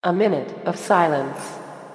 A minute of silence.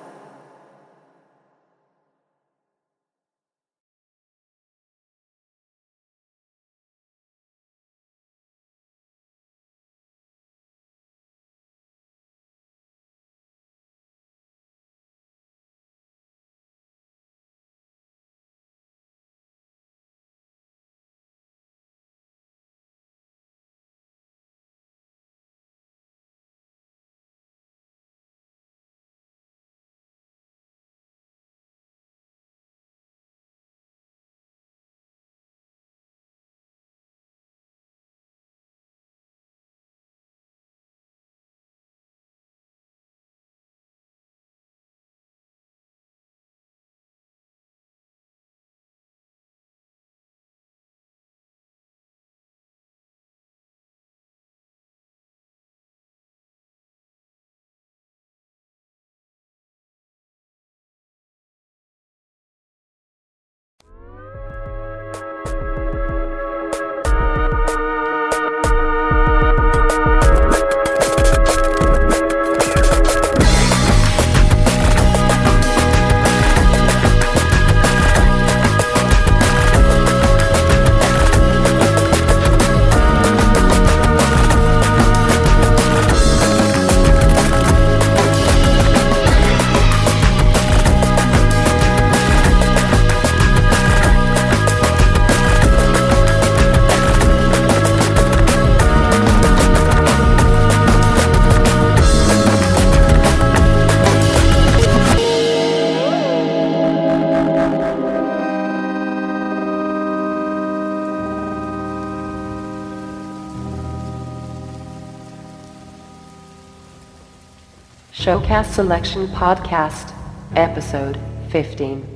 Showcast Selection Podcast, Episode 15.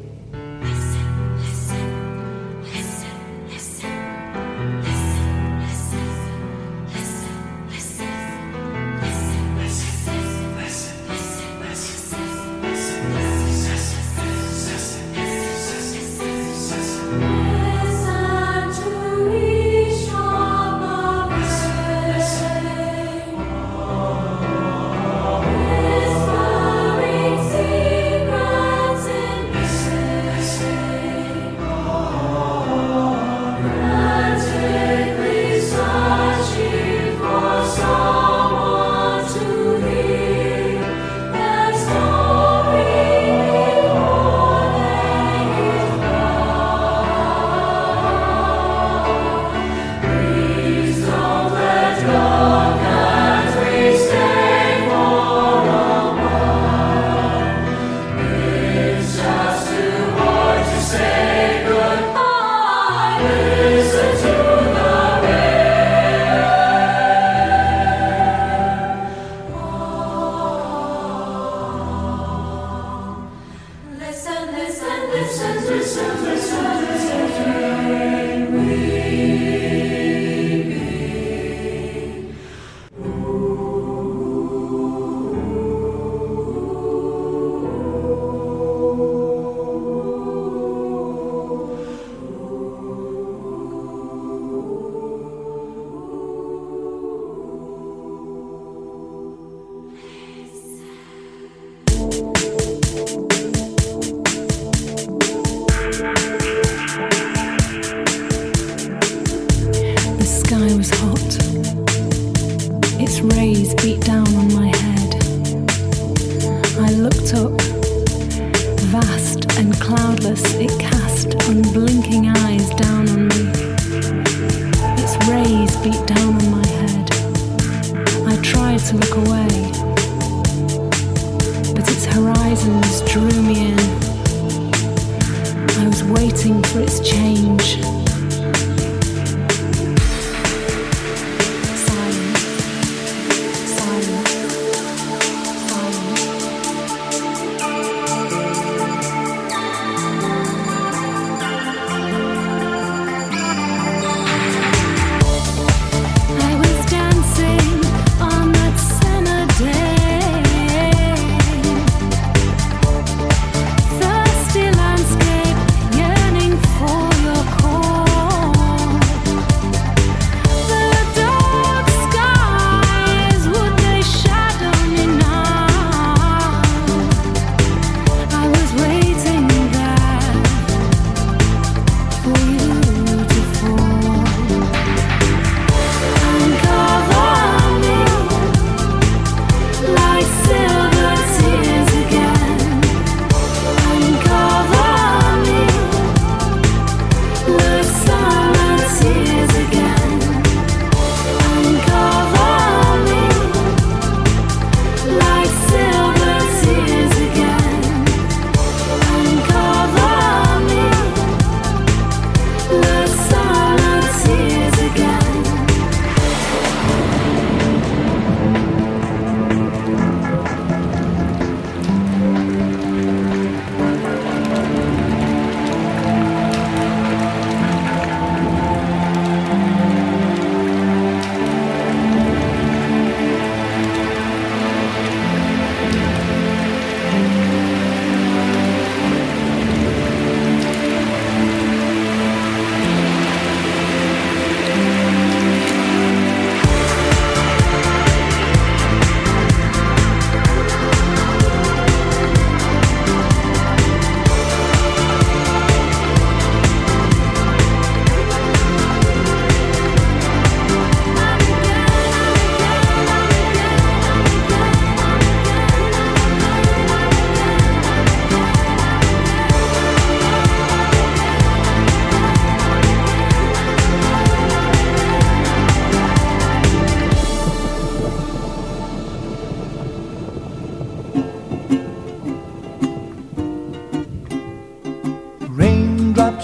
I was dancing on that cemetery.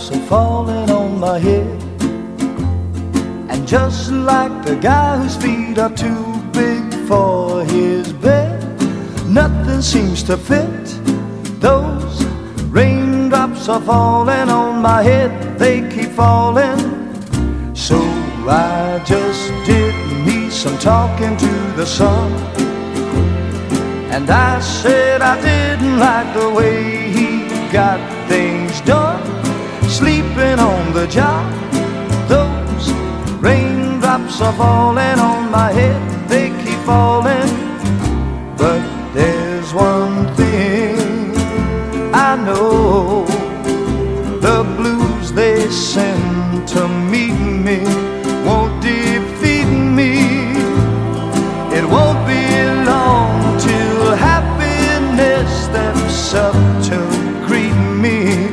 raindrops are falling on my head. And just like the guy whose feet are too big for his bed, nothing seems to fit. Those raindrops are falling on my head, they keep falling. So I just did me some talking to the sun, and I said I didn't like the way he got things done, sleeping on the job. Those raindrops are falling on my head, they keep falling. But there's one thing I know, the blues they send to meet me won't defeat me. It won't be long till happiness steps up to greet me.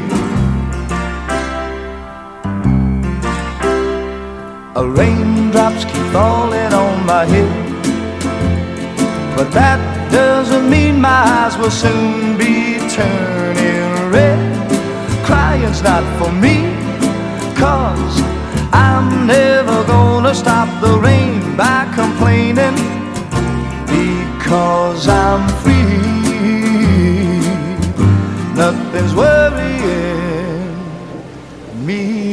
Raindrops keep falling on my head, but that doesn't mean my eyes will soon be turning red. Crying's not for me, 'cause I'm never gonna stop the rain by complaining, because I'm free. Nothing's worrying me.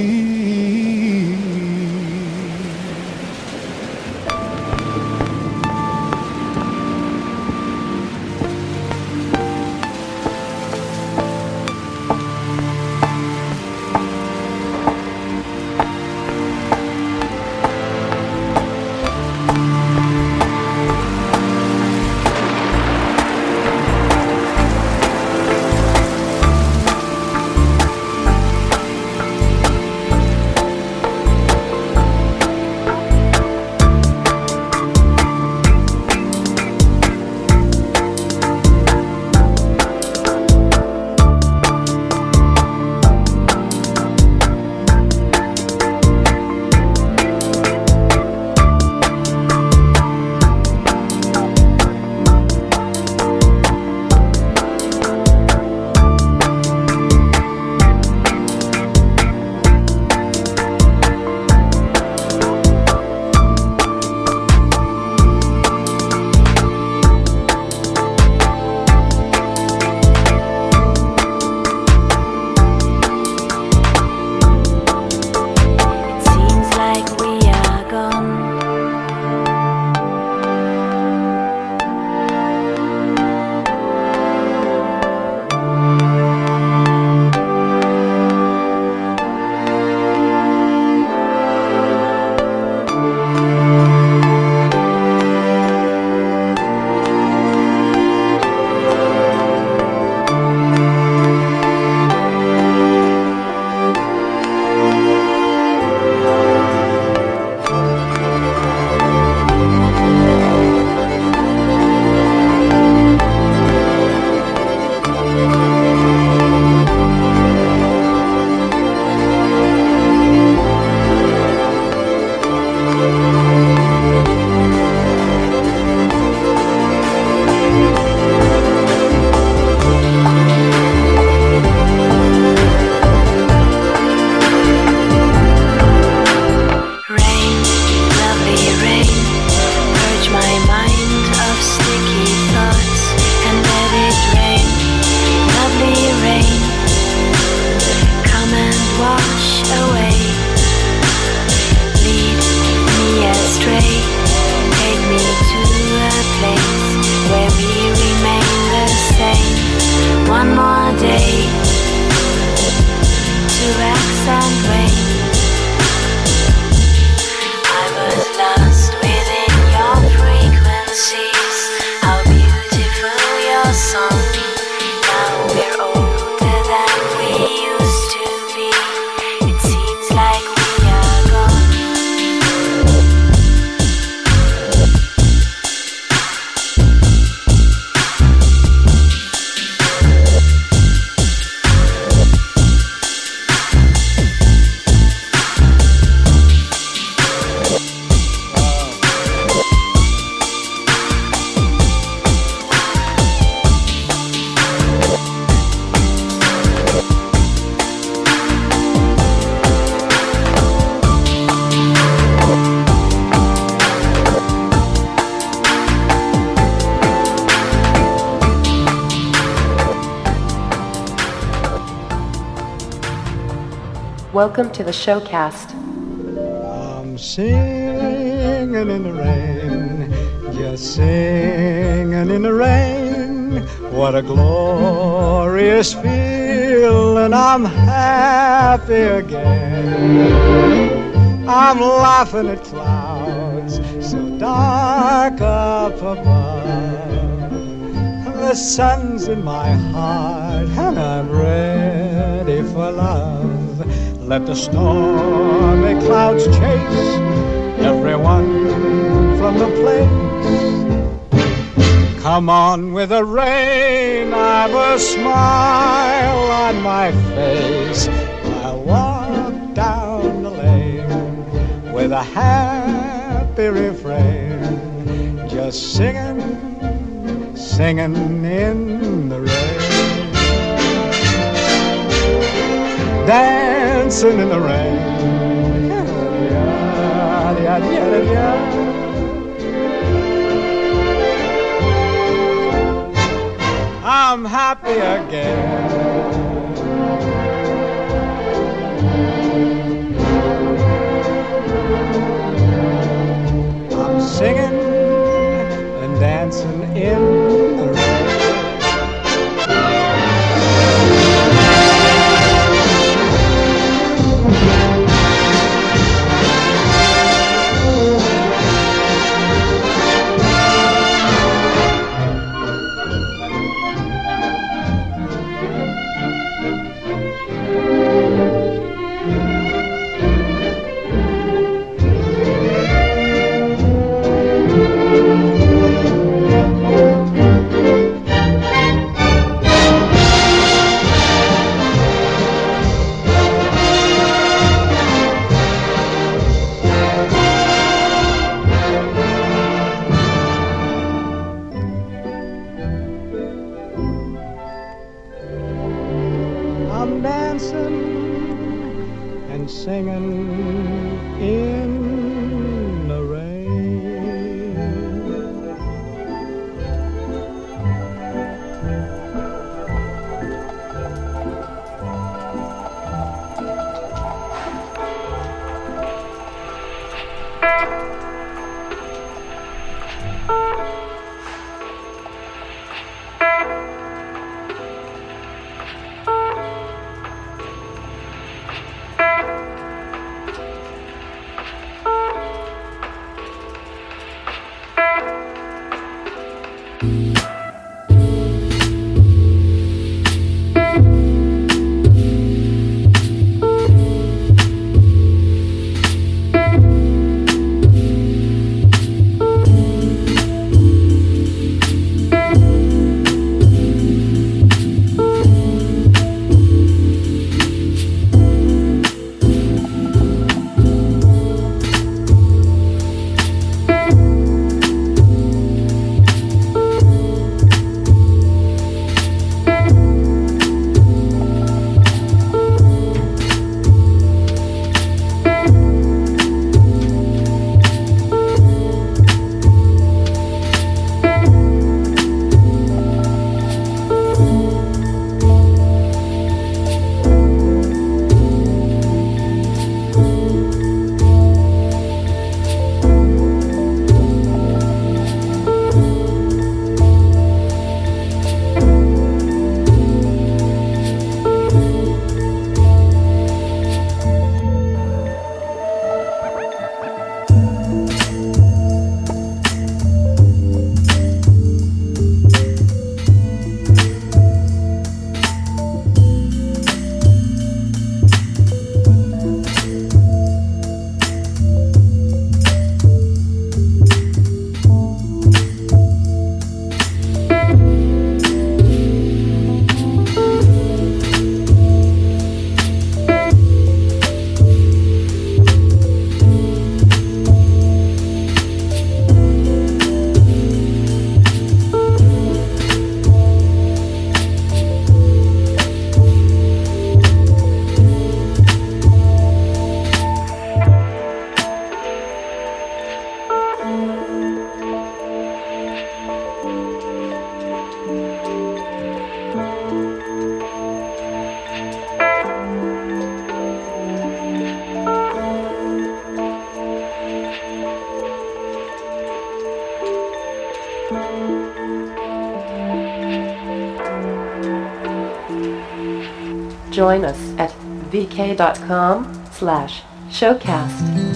Welcome to the showcast. I'm singing in the rain, just singing in the rain. What a glorious feeling, I'm happy again. I'm laughing at clouds so dark up above. The sun's in my heart and I'm ready for love. Let the stormy clouds chase everyone from the place. Come on with the rain, I've a smile on my face. I'll walk down the lane with a happy refrain, just singing, singing in the rain. Dancing in the rain. I'm happy again. I'm singing and dancing in the rain. I'm dancing and singing in the rain. Join us at vk.com/showcast.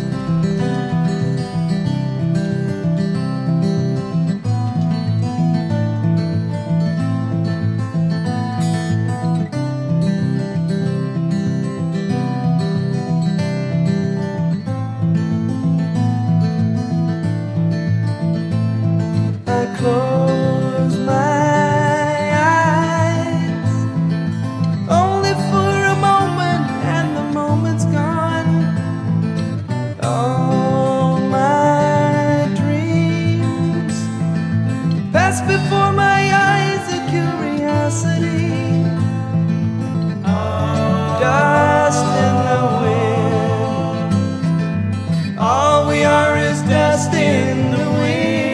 Close my eyes, only for a moment, and the moment's gone. All my dreams pass before my eyes, a curiosity, dust in the wind. All we are is dust in the wind.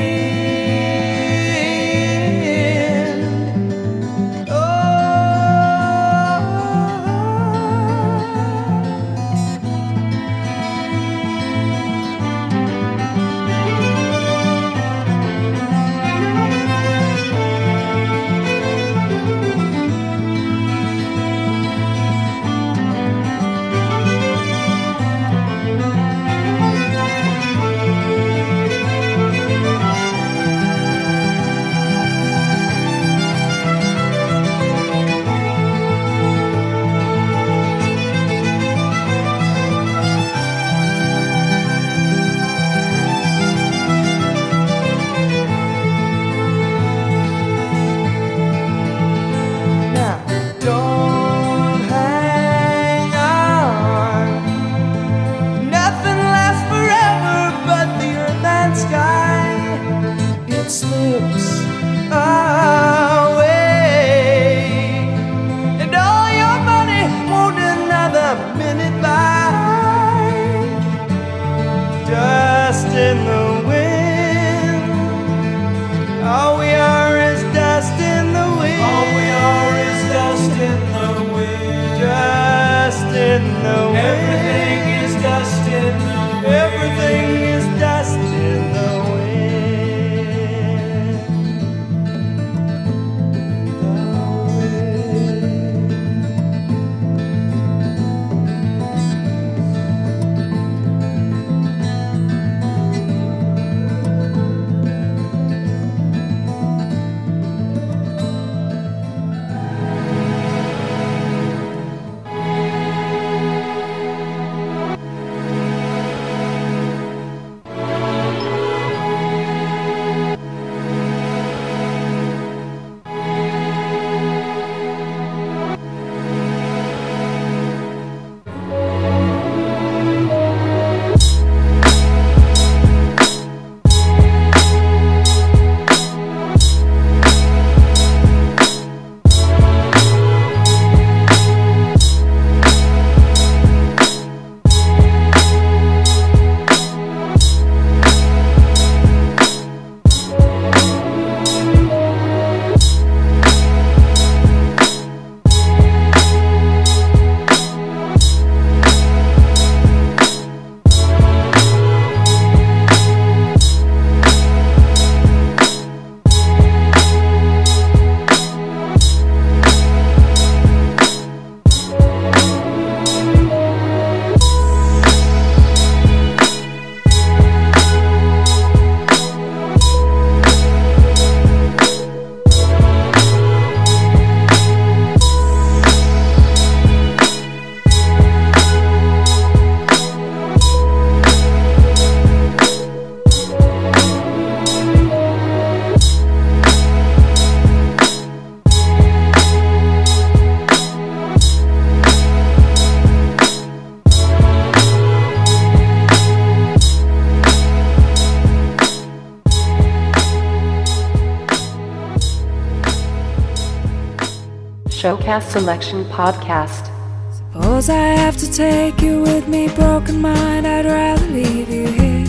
Showcast Selection Podcast. Suppose I have to take you with me, broken mind, I'd rather leave you here.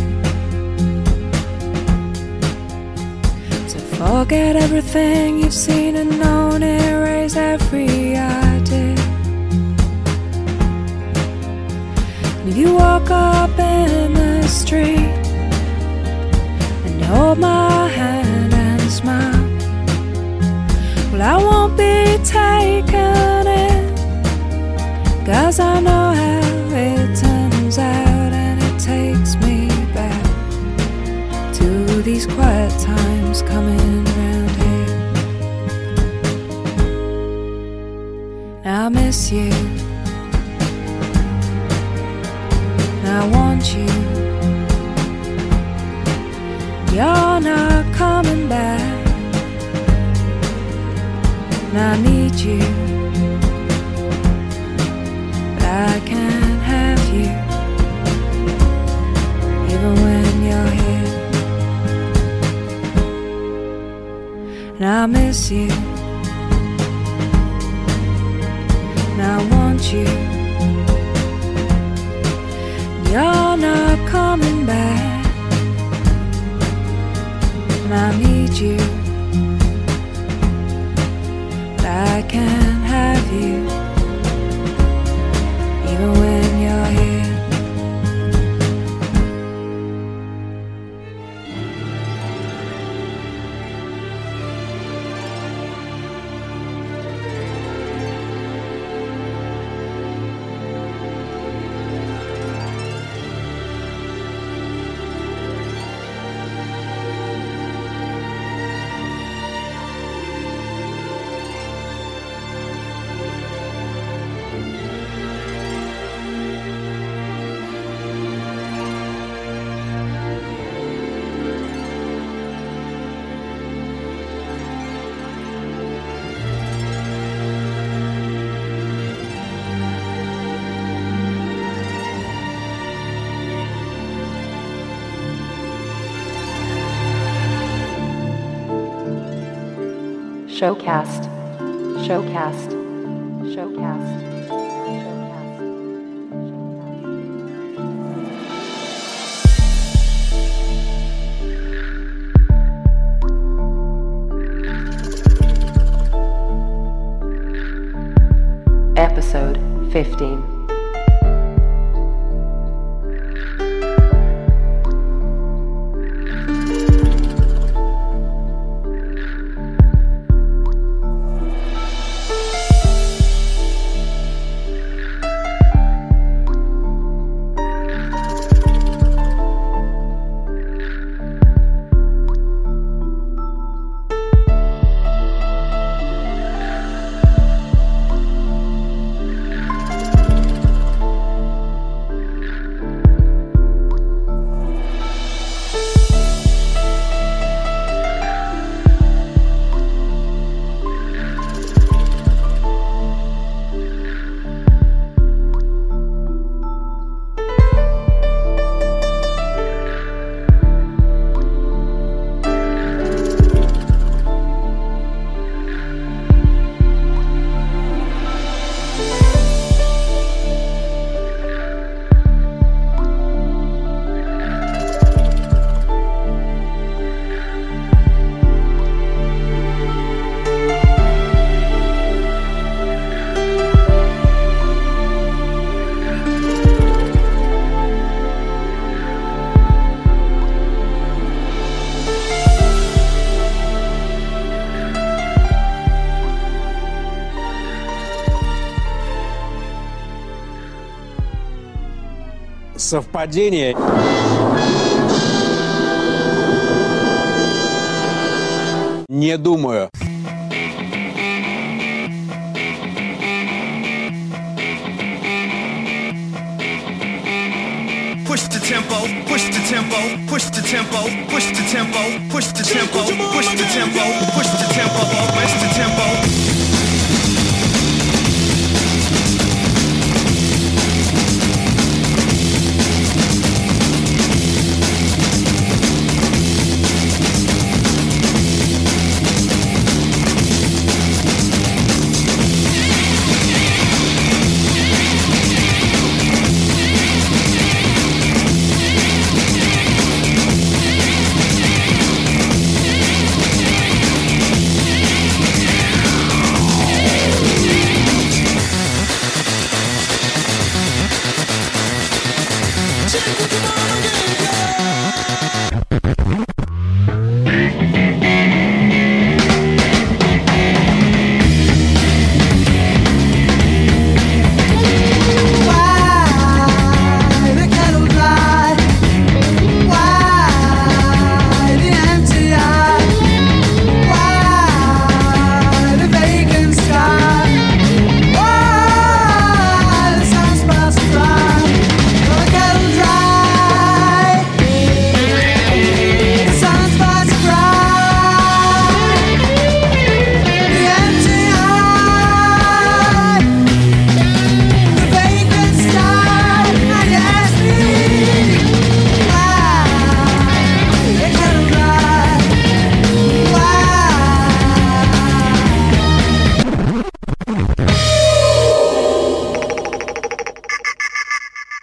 So forget everything you've seen and known, erase every idea. And if you walk up in the street and hold my hand and smile, well, I won't be taken in 'Cause I know how it turns out, and it takes me back to these quiet times coming around here. I miss you, and I want you. You're not coming back, and I need you, but I can't have you, even when you're here. And I miss you, and I want you. You're not coming back, and I need you, but I can't have you, even when you're here. Showcast. Showcast. Showcast. Episode 15. Совпадение. Не думаю. Push the tempo, push the tempo, push the tempo, push the tempo, push the tempo, push the tempo, push the tempo, push the tempo.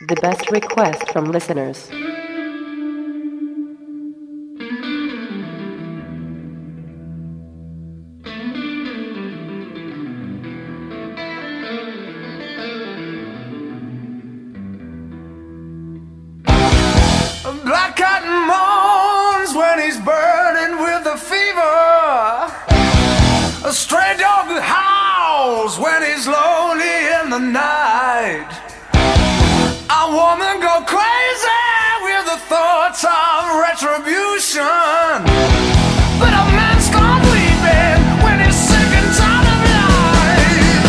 The best request from listeners. Black cotton moans when he's burning with a fever. A stray dog howls when he's lonely in the night. A woman go crazy with the thoughts of retribution. But a man's gone weeping when he's sick and tired of life.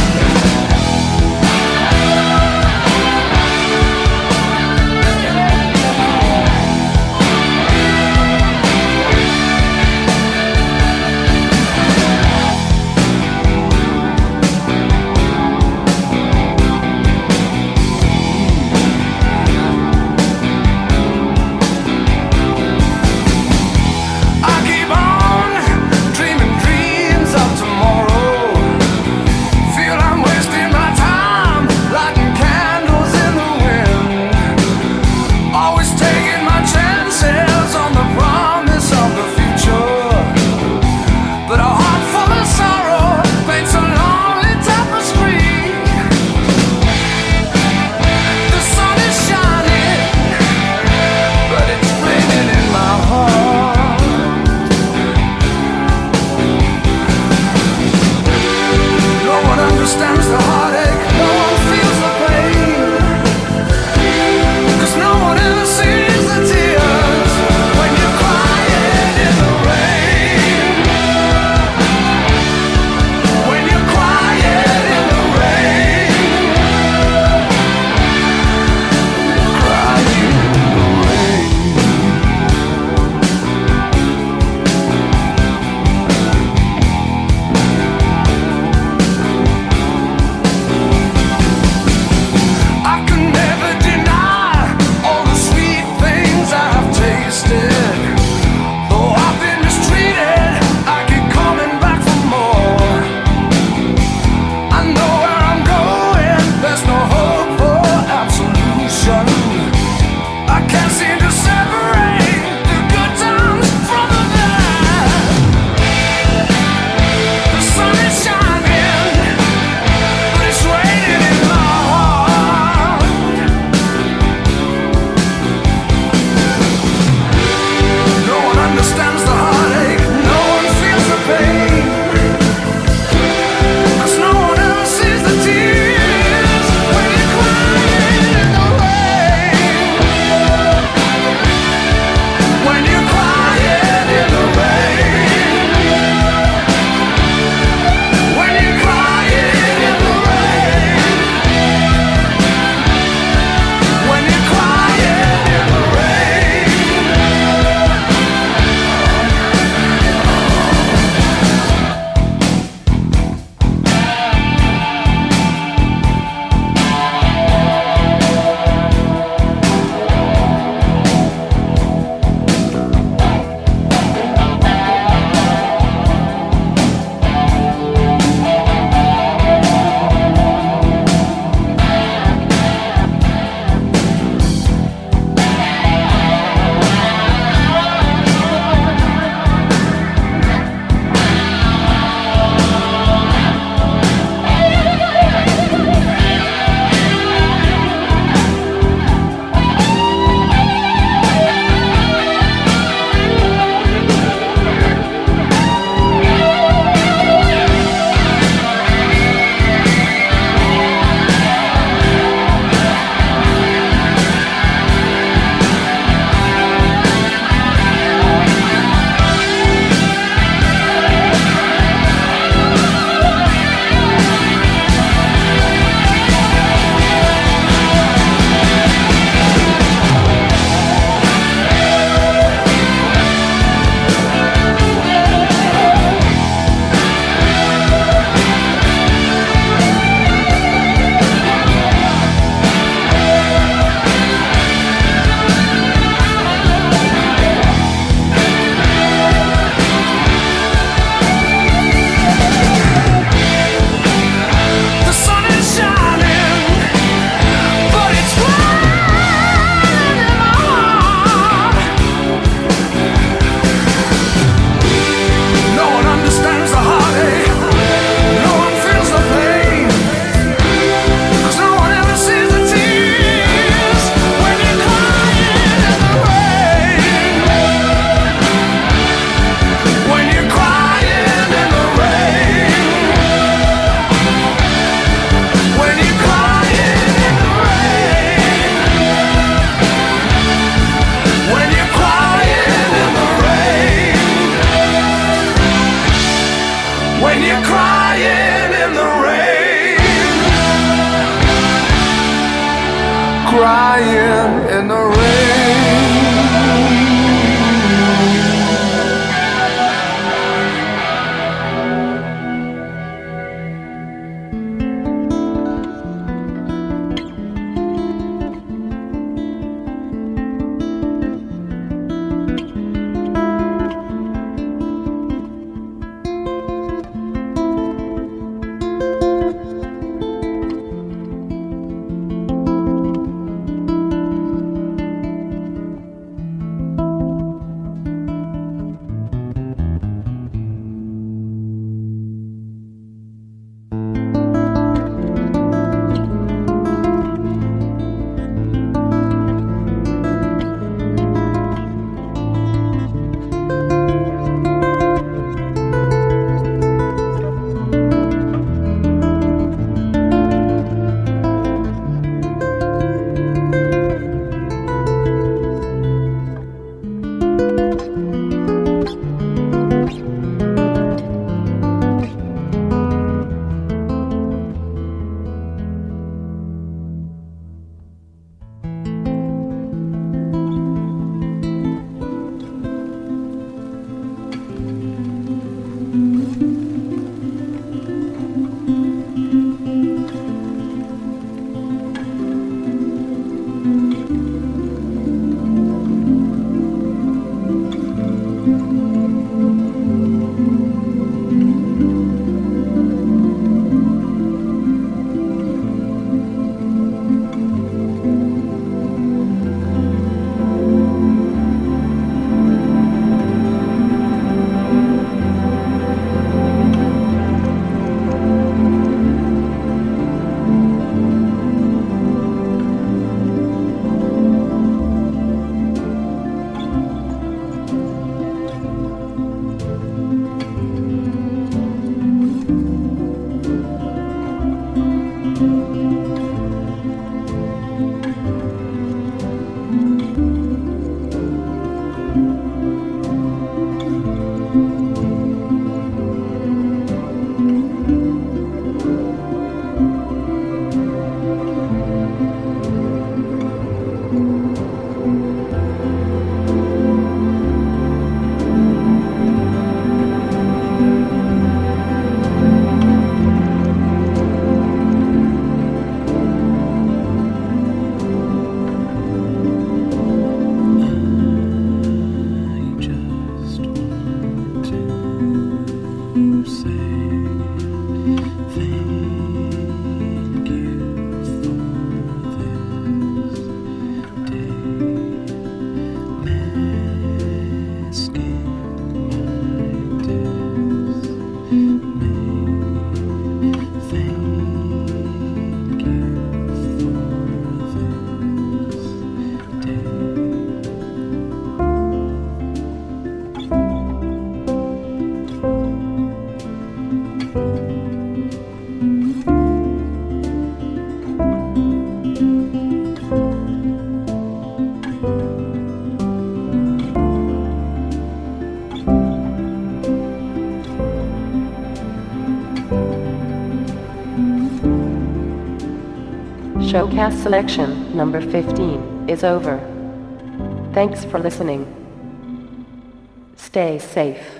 Showcast selection number 15 is over. Thanks for listening. Stay safe.